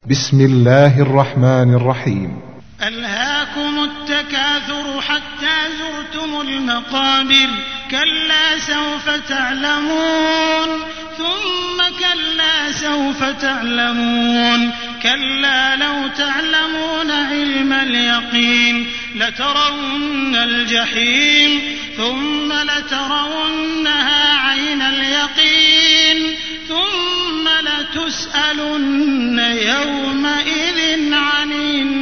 بسم الله الرحمن الرحيم. ألهاكم التكاثر حتى زرتم المقابر كلا سوف تعلمون ثم كلا سوف تعلمون كلا لو تعلمون علم اليقين لترون الجحيم ثم لترونها عين اليقين ثم لتسألن يومئذ عن